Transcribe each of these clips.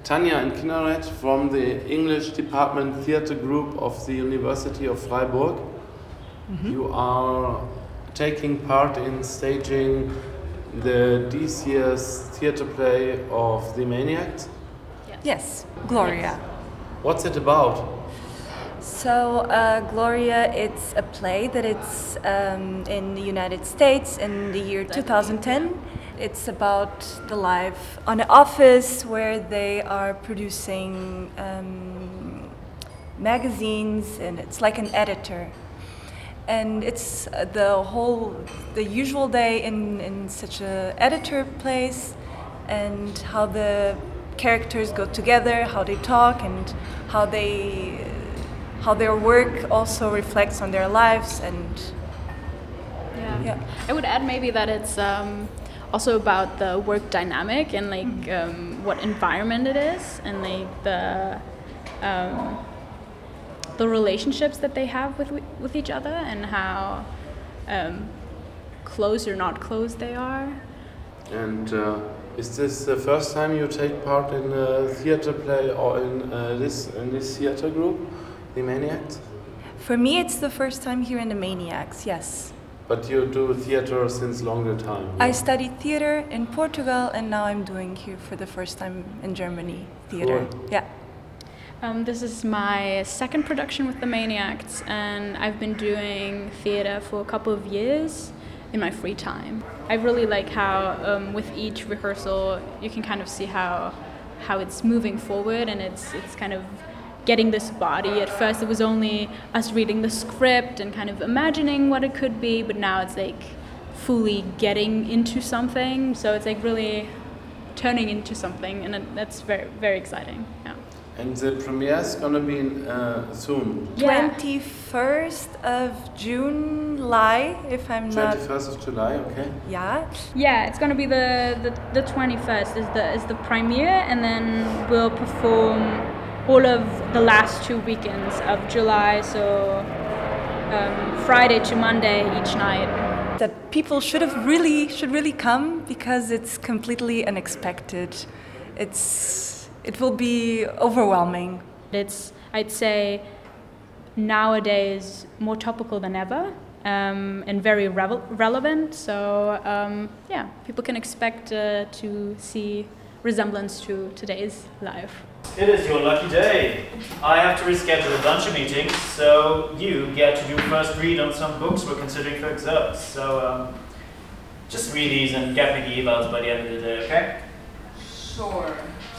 Tanja and Kinneret from the English Department Theatre Group of the University of Freiburg. Mm-hmm. You are taking part in staging this year's theatre play of The Maniacs? Yes, Gloria. What's it about? So Gloria, it's a play that it's in the United States in the year 2010. It's about the life on an office where they are producing magazines, and it's like an editor. And it's the usual day in such an editor place, and how the characters go together, how they talk, and how their work also reflects on their lives. And yeah. I would add maybe that it's also about the work dynamic and what environment it is, and the relationships that they have with each other, and how close or not close they are. And is this the first time you take part in a theatre play or in this theatre group, The Maniacs? For me, it's the first time here in The Maniacs, yes. But you do theatre since longer time? I studied theatre in Portugal, and now I'm doing here for the first time in Germany, theatre. Cool. Yeah. This is my second production with The Maniacs, and I've been doing theatre for a couple of years in my free time. I really like how with each rehearsal you can kind of see how it's moving forward, and it's kind of getting this body. At first it was only us reading the script and kind of imagining what it could be, but now it's like fully getting into something, so it's like really turning into something, and that's very, very exciting. Yeah. And the premiere is gonna be soon. Yeah. 21st of July, if I'm not. 21st of July, okay. Yeah. Yeah, it's gonna be the 21st is the premiere, and then we'll perform all of the last 2 weekends of July, so Friday to Monday each night. That people should really come, because it's completely unexpected. It will be overwhelming. It's, I'd say, nowadays more topical than ever, and very relevant. So people can expect to see resemblance to today's life. It is your lucky day. I have to reschedule a bunch of meetings, so you get to do first read on some books we're considering for excerpts. So just read these and get me the evals by the end of the day, okay? Sure.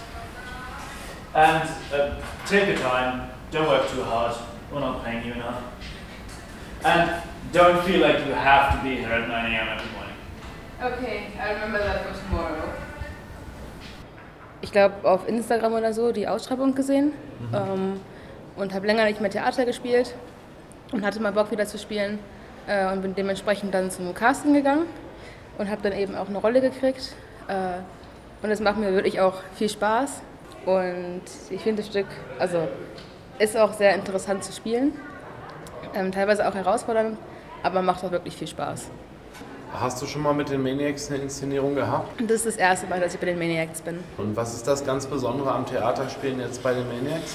And take your time, don't work too hard, we're not paying you enough. And don't feel like you have to be here at 9 a.m. every morning. Okay, I remember that for tomorrow. Ich glaube, auf Instagram oder so die Ausschreibung gesehen und habe länger nicht mehr Theater gespielt und hatte mal Bock wieder zu spielen und bin dementsprechend dann zum Casting gegangen und habe dann eben auch eine Rolle gekriegt und es macht mir wirklich auch viel Spaß und ich finde das Stück, also ist auch sehr interessant zu spielen, teilweise auch herausfordernd, aber macht auch wirklich viel Spaß. Hast du schon mal mit den Maniacs eine Inszenierung gehabt? Das ist das erste Mal, dass ich bei den Maniacs bin. Und was ist das ganz Besondere am Theaterspielen jetzt bei den Maniacs?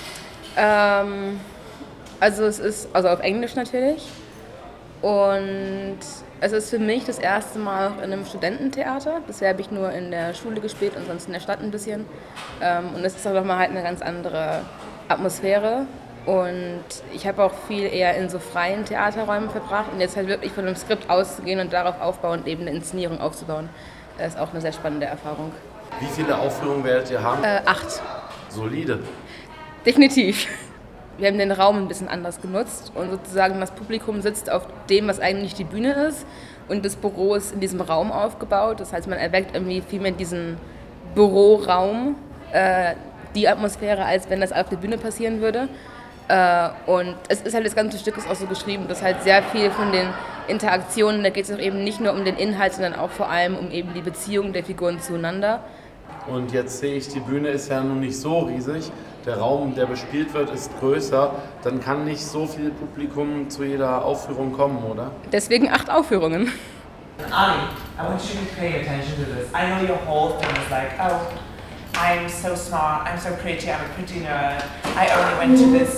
Also es ist auf Englisch natürlich und es ist für mich das erste Mal in einem Studententheater. Bisher habe ich nur in der Schule gespielt und sonst in der Stadt ein bisschen. Und es ist auch nochmal halt eine ganz andere Atmosphäre. Und ich habe auch viel eher in so freien Theaterräumen verbracht und jetzt halt wirklich von einem Skript auszugehen und darauf aufbauend eben eine Inszenierung aufzubauen, das ist auch eine sehr spannende Erfahrung. Wie viele Aufführungen werdet ihr haben? 8. Solide. Definitiv. Wir haben den Raum ein bisschen anders genutzt und sozusagen das Publikum sitzt auf dem, was eigentlich die Bühne ist und das Büro ist in diesem Raum aufgebaut. Das heißt, man erweckt irgendwie viel mehr diesen Büroraum, die Atmosphäre, als wenn das auf der Bühne passieren würde. Und es ist halt, das ganze Stück ist auch so geschrieben, dass halt sehr viel von den Interaktionen, da geht es auch eben nicht nur um den Inhalt, sondern auch vor allem um eben die Beziehung der Figuren zueinander. Und jetzt sehe ich, die Bühne ist ja nun nicht so riesig, der Raum, der bespielt wird, ist größer, dann kann nicht so viel Publikum zu jeder Aufführung kommen, oder? Deswegen 8 Aufführungen. Ani, I want you to pay attention to this. I know your whole thing is like, oh, I'm so smart, I'm so pretty, I'm a pretty nerd. I only went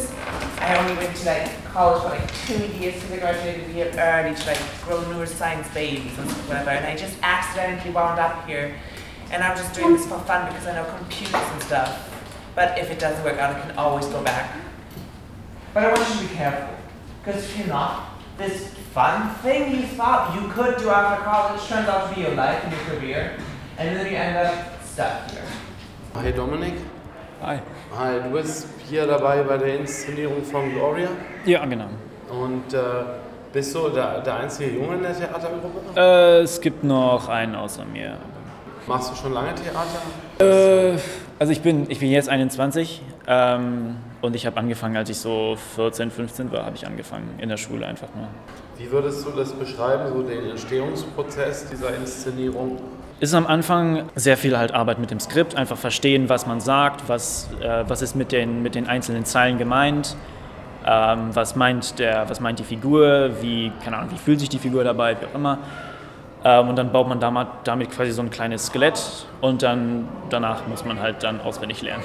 to like college for like 2 years because I graduated a year early to like grow neuroscience babies and whatever, and I just accidentally wound up here. And I'm just doing this for fun because I know computers and stuff. But if it doesn't work out, I can always go back. But I want you to be careful, because if you're not, this fun thing you thought you could do after college turns out to be your life and your career, and then you end up stuck here. Hi Dominik. Hi. Hi, du bist hier dabei bei der Inszenierung von Gloria Ja, genau. und bist du der einzige Junge in der Theatergruppe? Es gibt noch einen außer mir. Machst du schon lange Theater? Also ich bin jetzt 21 und ich habe angefangen, als ich so 14, 15 war, habe ich angefangen in der Schule einfach nur. Wie würdest du das beschreiben, so den Entstehungsprozess dieser Inszenierung? Es ist am Anfang sehr viel halt Arbeit mit dem Skript, einfach verstehen, was man sagt, was ist mit den einzelnen Zeilen gemeint, was meint die Figur, wie fühlt sich die Figur dabei, wie auch immer. Und dann baut man damit quasi so ein kleines Skelett und danach muss man halt dann auswendig lernen.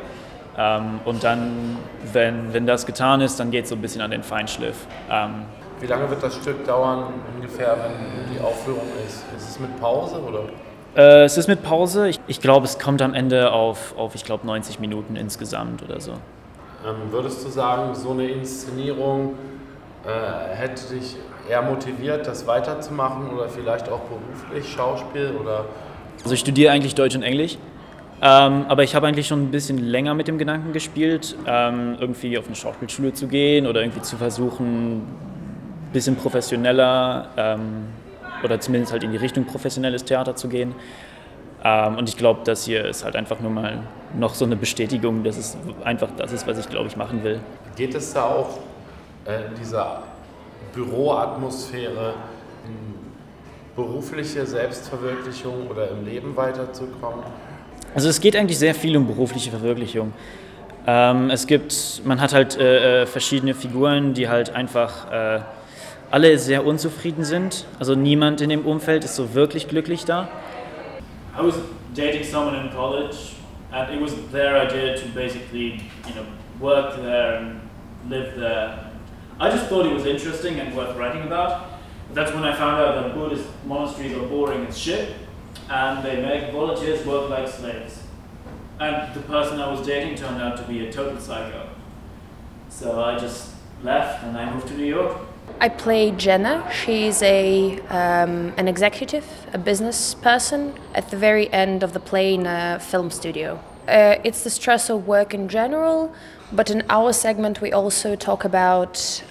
Und dann, wenn das getan ist, dann geht es so ein bisschen an den Feinschliff. Wie lange wird das Stück dauern ungefähr, wenn die Aufführung ist? Ist es mit Pause oder? Es ist mit Pause. Ich glaube, es kommt am Ende auf 90 Minuten insgesamt oder so. Würdest du sagen, so eine Inszenierung hätte dich eher motiviert, das weiterzumachen oder vielleicht auch beruflich Schauspiel oder? Also ich studiere eigentlich Deutsch und Englisch, aber ich habe eigentlich schon ein bisschen länger mit dem Gedanken gespielt, irgendwie auf eine Schauspielschule zu gehen oder irgendwie zu versuchen, ein bisschen professioneller oder zumindest halt in die Richtung professionelles Theater zu gehen. Und ich glaube, das hier ist halt einfach nur mal noch so eine Bestätigung, dass es einfach das ist, was ich glaube ich machen will. Geht es da auch in dieser Büroatmosphäre, in berufliche Selbstverwirklichung oder im Leben weiterzukommen? Also es geht eigentlich sehr viel um berufliche Verwirklichung. Man hat halt verschiedene Figuren, die halt einfach alle sehr unzufrieden sind. Also niemand in dem Umfeld ist so wirklich glücklich da. I was dating someone in college, and it was their idea to basically, work there and live there. I just thought it was interesting and worth writing about. That's when I found out that Buddhist monasteries are boring as shit, and they make volunteers work like slaves. And the person I was dating turned out to be a total psycho. So I just left and I moved to New York. I play Jenna. She's an executive, a business person at the very end of the play in a film studio. It's the stress of work in general, but in our segment we also talk about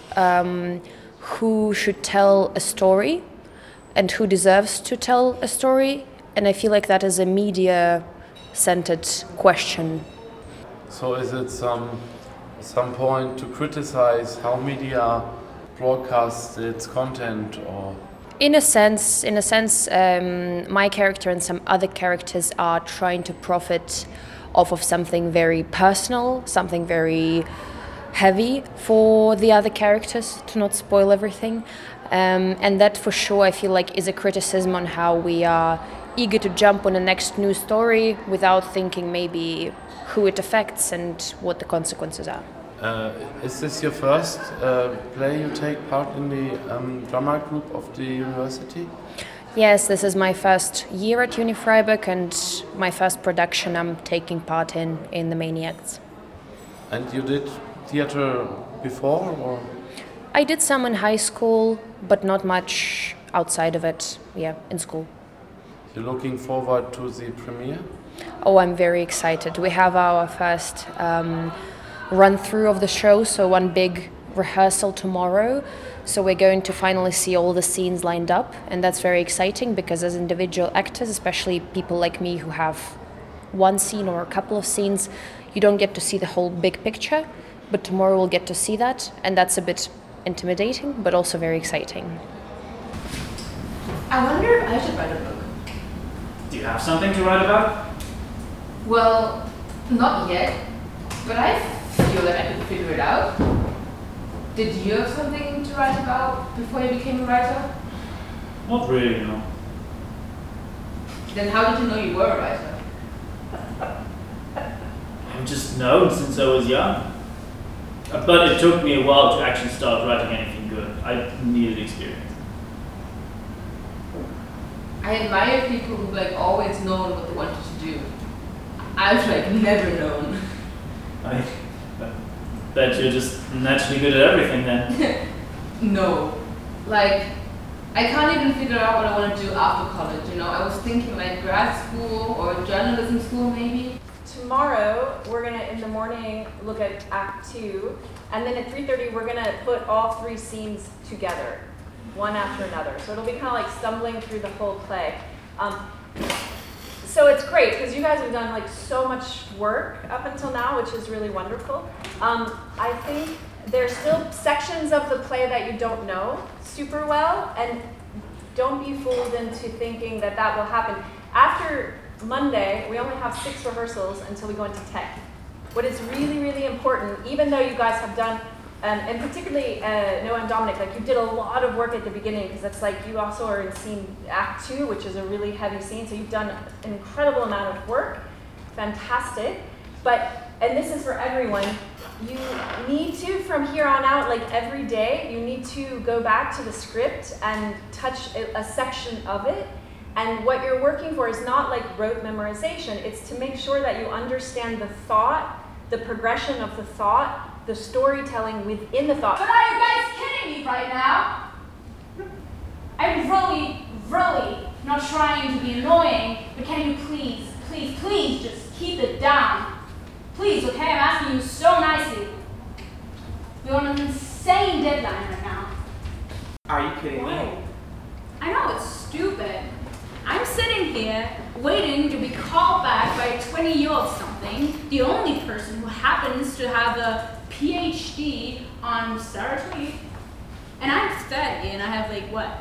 who should tell a story and who deserves to tell a story. And I feel like that is a media-centered question. So is it some point to criticize how media broadcasts its content, or? In a sense, my character and some other characters are trying to profit off of something very personal, something very heavy for the other characters, to not spoil everything. And that for sure I feel like is a criticism on how we are eager to jump on the next news story without thinking maybe who it affects and what the consequences are. Is this your first play you take part in the drama group of the university? Yes, this is my first year at Uni Freiburg and my first production I'm taking part in the Maniacs. And you did theater before, or? I did some in high school, but not much outside of it, in school. You're looking forward to the premiere? Oh, I'm very excited. We have our first run-through of the show, so one big rehearsal tomorrow. So we're going to finally see all the scenes lined up, and that's very exciting because as individual actors, especially people like me who have one scene or a couple of scenes, you don't get to see the whole big picture, but tomorrow we'll get to see that, and that's a bit intimidating, but also very exciting. I wonder if I should write a book. Do you have something to write about? Well, not yet, but I feel like I could figure it out. Did you have something to write about before you became a writer? Not really, no. Then how did you know you were a writer? I've just known since I was young. But it took me a while to actually start writing anything good. I needed experience. I admire people who've like always known what they wanted to do. I've like never known. I bet you're just naturally good at everything then. No. Like, I can't even figure out what I want to do after college, you know? I was thinking like grad school or journalism school maybe. Tomorrow, we're gonna, in the morning, look at Act 2, and then at 3:30, we're gonna put all 3 scenes together, one after another. So it'll be kind of like stumbling through the whole play. So it's great, because you guys have done like so much work up until now, which is really wonderful. I think there's still sections of the play that you don't know super well, and don't be fooled into thinking that that will happen. After Monday, we only have 6 rehearsals until we go into tech. What is really, really important, even though you guys have done, and particularly Noah and Dominic, like you did a lot of work at the beginning, because that's like you also are in scene Act 2, which is a really heavy scene, so you've done an incredible amount of work, fantastic. But, and this is for everyone, you need to, from here on out, like every day, you need to go back to the script and touch a section of it. And what you're working for is not like rote memorization, it's to make sure that you understand the thought, the progression of the thought, the storytelling within the thought. But are you guys kidding me right now? I'm really not trying to be annoying, but can you please just keep it down? Please, okay? I'm asking you so nicely. We're on an insane deadline right now. Are you kidding me? I know, it's stupid. I'm sitting here waiting to be called back by a 20-year-old something, the only person who happens to have a PhD on Sarah Tweed. And I'm 30 and I have like what?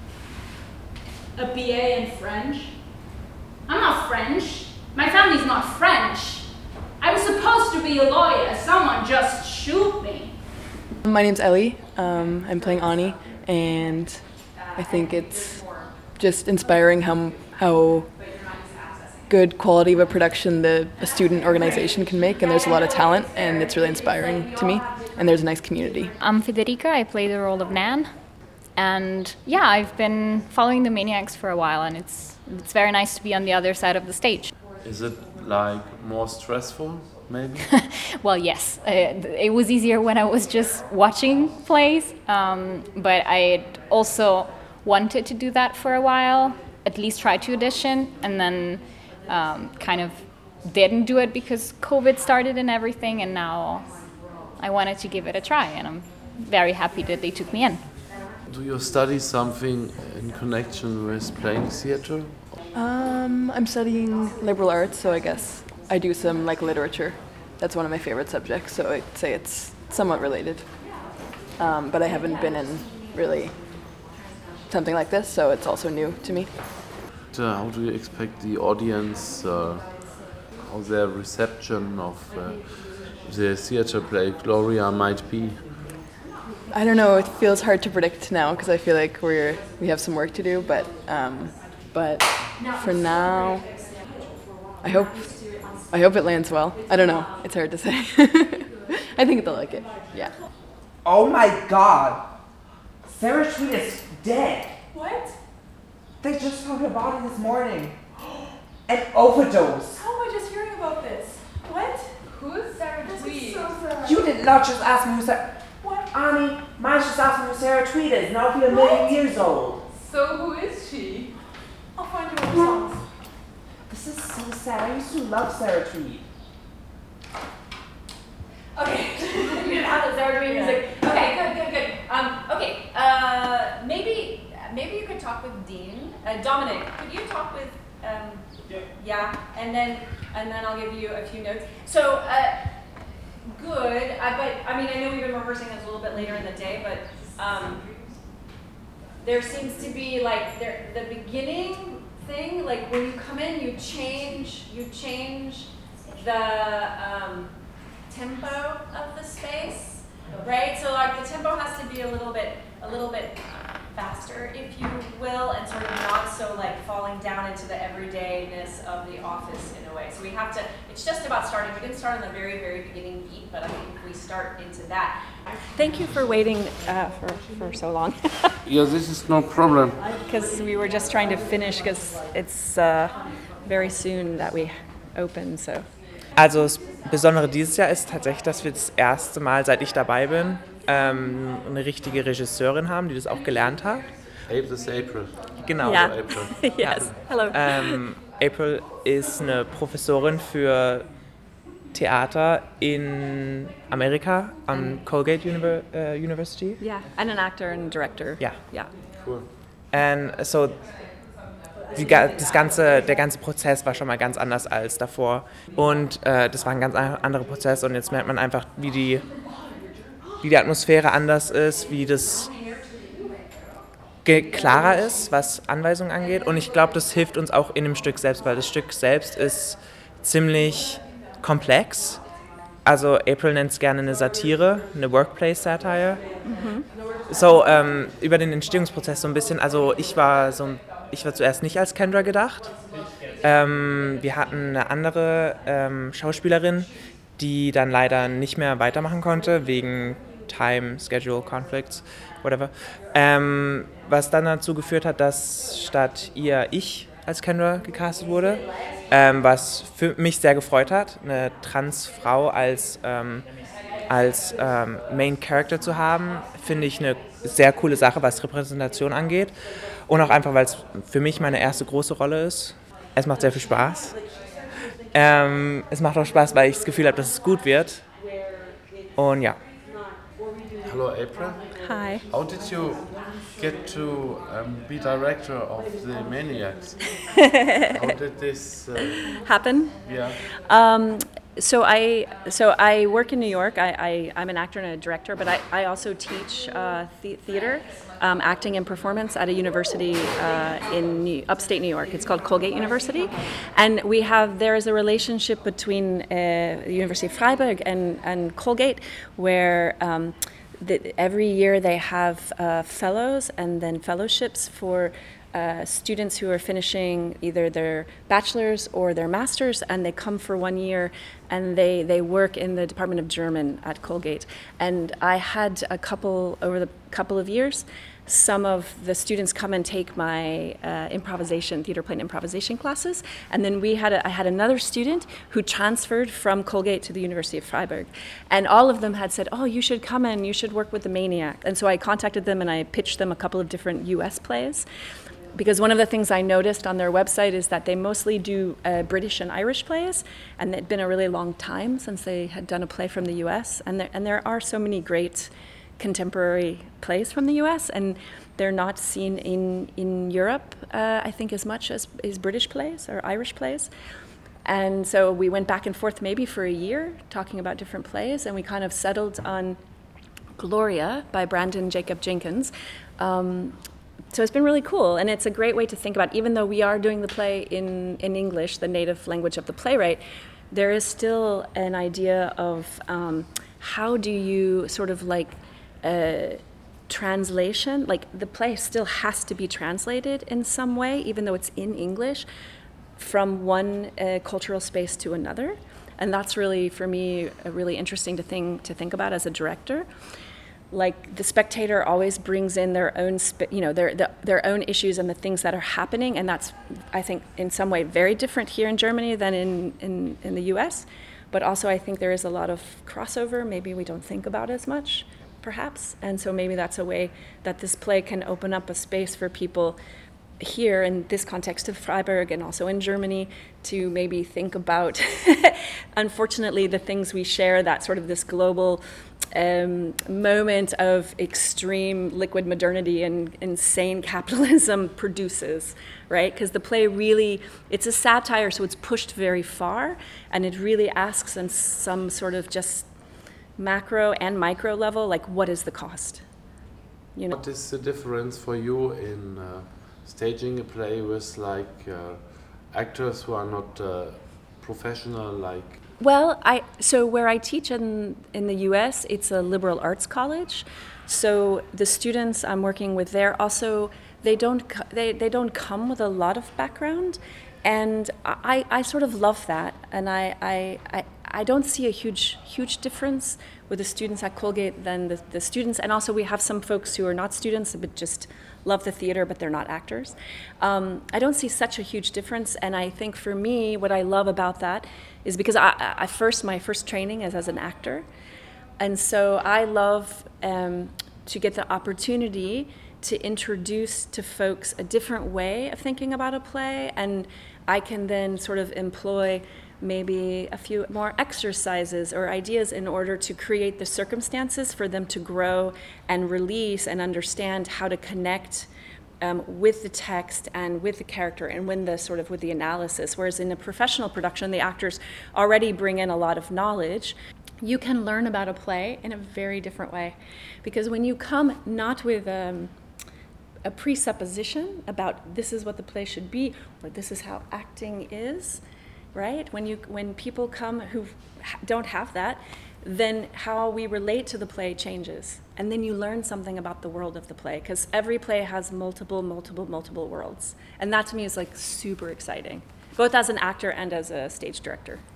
A BA in French? I'm not French. My family's not French. I was supposed to be a lawyer. Someone just shoot me. My name's Ellie. I'm playing Ani, and I think it's just inspiring how good quality of a production a student organization can make, and there's a lot of talent, and it's really inspiring to me, and there's a nice community. I'm Federica, I play the role of Nan, and yeah, I've been following the Maniacs for a while, and it's very nice to be on the other side of the stage. Is it like more stressful, maybe? Well, yes. It was easier when I was just watching plays, but I also wanted to do that for a while, at least try to audition, and then kind of didn't do it because COVID started and everything, and now I wanted to give it a try, and I'm very happy that they took me in. Do you study something in connection with playing theater? I'm studying liberal arts, so I guess I do some like literature. That's one of my favorite subjects, so I'd say it's somewhat related. But I haven't been in really something like this, so it's also new to me. How do you expect the audience, how their reception of the theater play Gloria might be? I don't know, it feels hard to predict now because I feel like we have some work to do, but for now, I hope it lands well. I don't know, it's hard to say. I think they'll like it, yeah. Oh my god! Sarah Tweed is dead! What? They just found her body this morning. An overdose! How am I just hearing about this? What? Who's Sarah Tweed? So sad. You did not just ask me who Sarah... What? Annie, mine's just asking who Sarah Tweed is. Now if you're a million years old. So who is she? I'll find you other songs. This is so sad. I used to love Sarah Tweed. Okay. Now that Sarah Tweed music. Okay, good. Okay. Maybe you could talk with Dean. Dominic, could you talk with yeah, and then I'll give you a few notes. So good. But I mean, I know we've been rehearsing this a little bit later in the day, but there seems to be like the beginning thing. Like when you come in, you change the tempo of the space, right? So like the tempo has to be a little bit faster, if you will, and sort of not so like falling down into the everydayness of the office in a way. So we have to, it's just about starting. We didn't start on the very, very beginning beat, but I think we start into that. Thank you for waiting for so long. Yeah, this is no problem. Because we were just trying to finish, because it's very soon that we open, so. Also das Besondere dieses Jahr ist tatsächlich, dass wir das erste Mal, seit ich dabei bin, eine richtige Regisseurin haben, die das auch gelernt hat. This is April. Genau. Yeah. So April. Yes, hello. April ist eine Professorin für Theater in Amerika am Colgate University. Yeah, and an actor and director. Ja. Yeah. Cool. And so der ganze Prozess war schon mal ganz anders als davor. Und das war ein ganz anderer Prozess. Und jetzt merkt man einfach, wie die Atmosphäre anders ist, wie das klarer ist, was Anweisungen angeht. Und ich glaube, das hilft uns auch in dem Stück selbst, weil das Stück selbst ist ziemlich komplex. Also April nennt es gerne eine Satire, eine Workplace-Satire. So, über den Entstehungsprozess so ein bisschen, also ich war zuerst nicht als Kendra gedacht. Wir hatten eine andere Schauspielerin, die dann leider nicht mehr weitermachen konnte, wegen Time, Schedule, Conflicts, whatever. Was dann dazu geführt hat, dass statt ihr ich als Kendra gecastet wurde, was für mich sehr gefreut hat, eine Transfrau als Main Character zu haben, finde ich eine sehr coole Sache, was Repräsentation angeht. Und auch einfach, weil es für mich meine erste große Rolle ist. Es macht sehr viel Spaß. Es macht auch Spaß, weil ich das Gefühl habe, dass es gut wird. Und ja. Hello, April. Hi. How did you get to be director of the Maniacs? How did this Happen? Yeah. So I work in New York. I'm an actor and a director, but I also teach theater, acting and performance at a university in upstate New York. It's called Colgate University, and there is a relationship between the University of Freiburg and Colgate, where every year they have fellows and then fellowships for students who are finishing either their bachelor's or their master's, and they come for 1 year and they work in the Department of German at Colgate. And I had over the couple of years, some of the students come and take my theater play and improvisation classes. And then I had another student who transferred from Colgate to the University of Freiburg. And all of them had said, oh, you should come in, you should work with the Maniac. And so I contacted them and I pitched them a couple of different US plays. Because one of the things I noticed on their website is that they mostly do British and Irish plays, and it'd been a really long time since they had done a play from the US. And there are so many great contemporary plays from the US, and they're not seen in Europe, I think, as much as British plays or Irish plays. And so we went back and forth maybe for a year talking about different plays, and we kind of settled on Gloria by Brandon Jacob Jenkins. So it's been really cool, and it's a great way to think about, even though we are doing the play in English, the native language of the playwright, there is still an idea of how do you sort of like translation, like the play still has to be translated in some way, even though it's in English, from one cultural space to another. And that's really, for me, a really interesting thing to think about as a director. Like the spectator always brings in their own, their own issues and the things that are happening, and that's, I think, in some way very different here in Germany than in the U.S. But also, I think there is a lot of crossover. Maybe we don't think about as much, perhaps, and so maybe that's a way that this play can open up a space for people here in this context of Freiburg and also in Germany to maybe think about, unfortunately, the things we share, that sort of this global moment of extreme liquid modernity and insane capitalism produces, right? Because the play really, it's a satire, so it's pushed very far, and it really asks on some sort of just macro and micro level, like, what is the cost? You know? What is the difference for you in staging a play with actors who are not professional, like? Well, so where I teach in the U.S., it's a liberal arts college. So the students I'm working with there also, they don't come with a lot of background, And I sort of love that, and I don't see a huge difference with the students at Colgate than the students, and also we have some folks who are not students but just love the theater but they're not actors. I don't see such a huge difference, and I think for me what I love about that is because my first training is as an actor, and so I love to get the opportunity to introduce to folks a different way of thinking about a play, and I can then sort of employ maybe a few more exercises or ideas in order to create the circumstances for them to grow and release and understand how to connect with the text and with the character and with the analysis. Whereas in a professional production, the actors already bring in a lot of knowledge. You can learn about a play in a very different way, because when you come not with a presupposition about this is what the play should be or this is how acting is, right? When people come who don't have that, then how we relate to the play changes, and then you learn something about the world of the play, because every play has multiple worlds, and that to me is like super exciting, both as an actor and as a stage director.